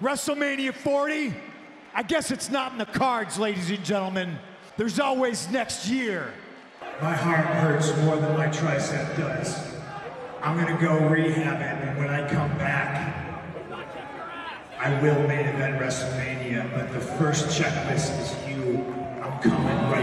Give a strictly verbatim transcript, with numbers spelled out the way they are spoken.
WrestleMania forty? I guess it's not in the cards, ladies and gentlemen. There's always next year. My heart hurts more than my tricep does. I'm gonna go rehab it, and when I come back, I will main event WrestleMania, but the first checklist is you. I'm coming right